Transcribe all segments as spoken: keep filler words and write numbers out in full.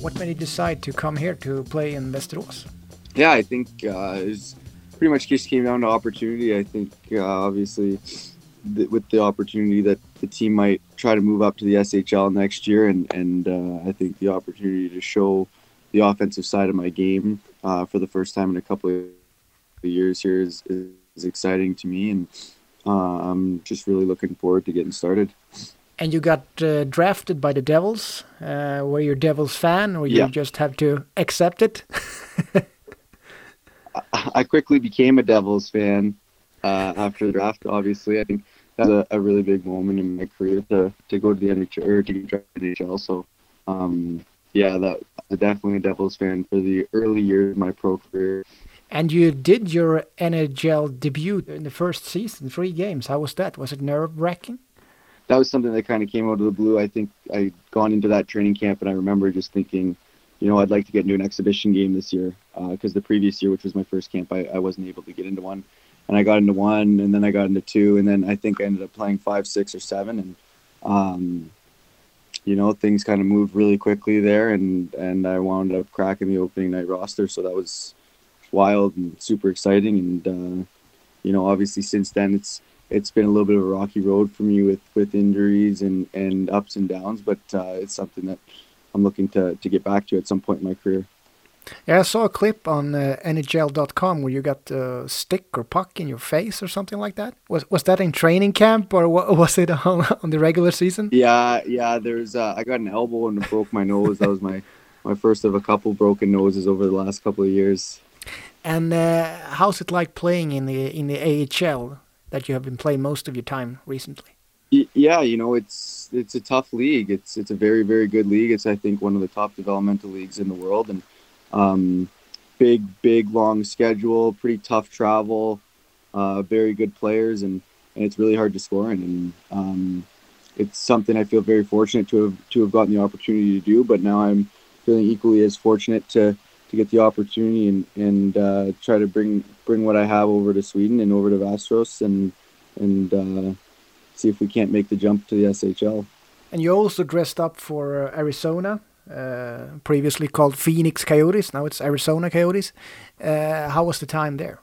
What made you decide to come here to play in Västerås? Yeah, I think uh, it's pretty much just came down to opportunity. I think uh, obviously th- with the opportunity that the team might try to move up to the S H L next year, and and uh, I think the opportunity to show the offensive side of my game uh, for the first time in a couple of years here is, is exciting to me, and uh, I'm just really looking forward to getting started. And you got uh, drafted by the Devils. Uh, were you a Devils fan, or you Yeah. just have to accept it? I quickly became a Devils fan uh, after the draft. Obviously, I think that was a, a really big moment in my career to, to go to the N H L or to get drafted to the N H L. So, um, yeah, that definitely a Devils fan for the early years of my pro career. And you did your N H L debut in the first season, three games. How was that? Was it nerve-wracking? That was something that kind of came out of the blue. I think I'd gone into that training camp, and I remember just thinking, you know, I'd like to get into an exhibition game this year, because uh, the previous year, which was my first camp, I, I wasn't able to get into one. And I got into one, and then I got into two, and then I think I ended up playing five, six, or seven. And, um, you know, things kind of moved really quickly there, and, and I wound up cracking the opening night roster. So that was wild and super exciting. And, uh, you know, obviously since then, it's it's been a little bit of a rocky road for me with, with injuries and, and ups and downs, but uh, it's something that I'm looking to, to get back to at some point in my career. Yeah, I saw a clip on uh, N H L dot com where you got a stick or puck in your face or something like that. Was was that in training camp, or was it on, on the regular season? Yeah, yeah. There's uh, I got an elbow and broke my nose. That was my, my first of a couple broken noses over the last couple of years. And uh, how's it like playing in the in the A H L that you have been playing most of your time recently? Yeah, you know, it's it's a tough league. It's it's a very, very good league. It's, I think, one of the top developmental leagues in the world. And um, big, big, long schedule, pretty tough travel, uh, very good players, and, and it's really hard to score in. And um, it's something I feel very fortunate to have to have gotten the opportunity to do. But now I'm feeling equally as fortunate to, to get the opportunity and and uh, try to bring bring what I have over to Sweden and over to Västerås and and. Uh, see if we can't make the jump to the S H L. And you also dressed up for uh, Arizona, uh, previously called Phoenix Coyotes. Now it's Arizona Coyotes. Uh, how was the time there?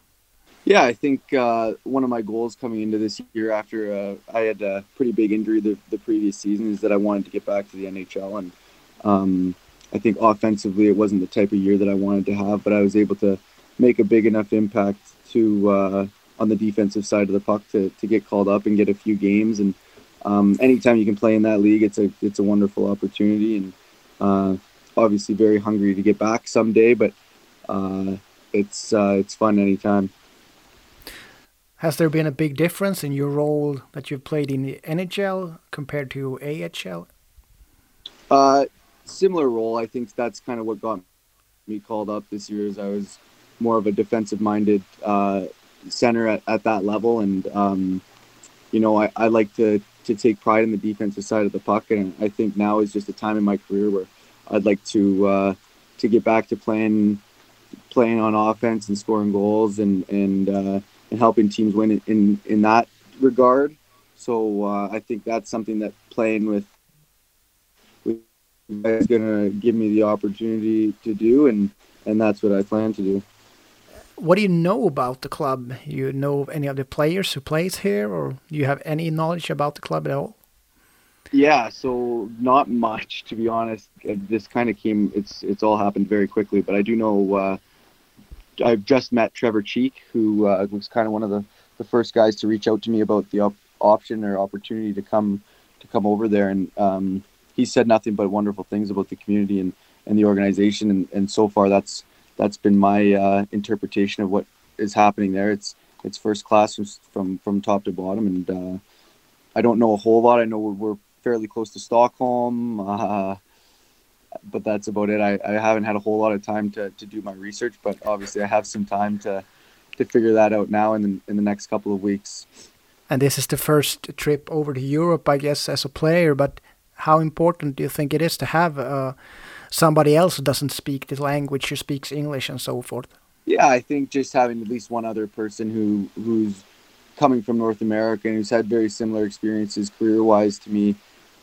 Yeah, I think uh, one of my goals coming into this year after uh, I had a pretty big injury the, the previous season is that I wanted to get back to the N H L. And um, I think offensively it wasn't the type of year that I wanted to have, but I was able to make a big enough impact to uh, on the defensive side of the puck to, to get called up and get a few games. And um, anytime you can play in that league, it's a it's a wonderful opportunity. And uh, obviously very hungry to get back someday, but uh, it's uh, it's fun anytime. Has there been a big difference in your role that you've played in the N H L compared to A H L? Uh, similar role. I think that's kind of what got me called up this year. Is I was more of a defensive-minded uh, center at, at that level, and um, you know, I, I like to to take pride in the defensive side of the puck, and I think now is just a time in my career where I'd like to uh, to get back to playing playing on offense and scoring goals and and uh, and helping teams win in in, in that regard. So uh, I think that's something that playing with with is going to give me the opportunity to do, and and that's what I plan to do. What do you know about the club? You know any of the players who plays here, or do you have any knowledge about the club at all? Yeah, so not much, to be honest. This kind of came, it's it's all happened very quickly, but I do know, uh, I've just met Trevor Cheek, who uh, was kind of one of the, the first guys to reach out to me about the op- option or opportunity to come to come over there. And um, he said nothing but wonderful things about the community and, and the organization. And, and so far, that's that's been my uh, interpretation of what is happening there. It's it's first class from from, from top to bottom, and uh, I don't know a whole lot. I know we're, we're fairly close to Stockholm, uh, but that's about it. I, I haven't had a whole lot of time to, to do my research, but obviously I have some time to to figure that out now in the, in the next couple of weeks. And this is the first trip over to Europe, I guess, as a player, but how important do you think it is to have uh, somebody else who doesn't speak the language, who speaks English and so forth? Yeah, I think just having at least one other person who who's coming from North America and who's had very similar experiences career-wise to me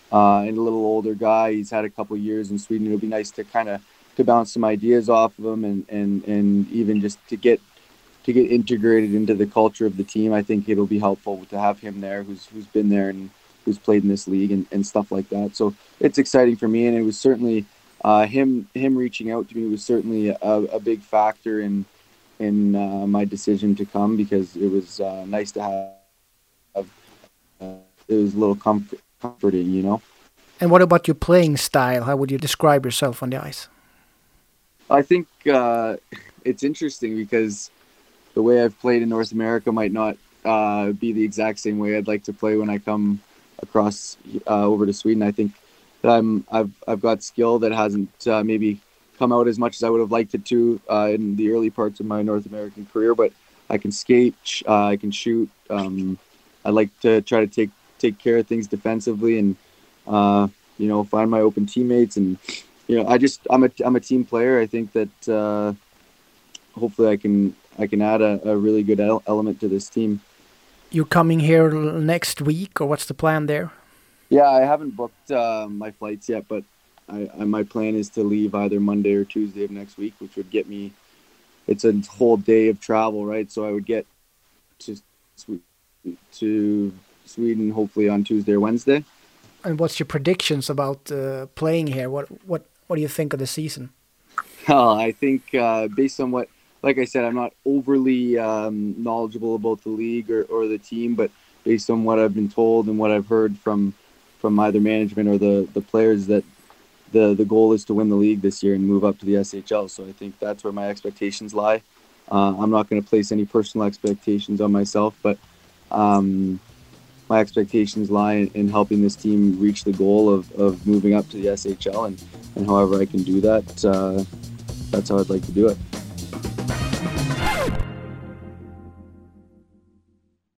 uh, and a little older guy. He's had a couple years in Sweden. It'll be nice to kind of to bounce some ideas off of him, and, and, and even just to get to get integrated into the culture of the team. I think it'll be helpful to have him there, who's who's been there and who's played in this league and, and stuff like that. So it's exciting for me, and it was certainly uh, him him reaching out to me was certainly a, a big factor in in uh, my decision to come, because it was uh, nice to have. Uh, it was a little comfort, comforting, you know. And what about your playing style? How would you describe yourself on the ice? I think uh, it's interesting because the way I've played in North America might not uh, be the exact same way I'd like to play when I come across uh, over to Sweden. I think that I'm I've I've got skill that hasn't uh, maybe come out as much as I would have liked it to uh, in the early parts of my North American career, but I can skate, uh, I can shoot. Um, I like to try to take take care of things defensively, and uh, you know, find my open teammates, and you know, I just I'm a I'm a team player. I think that uh, hopefully I can I can add a, a really good el- element to this team. You coming here next week, or what's the plan there? Yeah, I haven't booked uh, my flights yet, but I, I my plan is to leave either Monday or Tuesday of next week, which would get me. It's a whole day of travel, right? So I would get to to Sweden hopefully on Tuesday or Wednesday. And what's your predictions about uh, playing here? What what what do you think of the season? Oh, I think uh, based on what, like I said, I'm not overly um, knowledgeable about the league or, or the team, but based on what I've been told and what I've heard from from either management or the, the players, that the the goal is to win the league this year and move up to the S H L. So I think that's where my expectations lie. Uh, I'm not going to place any personal expectations on myself, but um, my expectations lie in, in helping this team reach the goal of, of moving up to the S H L, and, and however I can do that, uh, that's how I'd like to do it.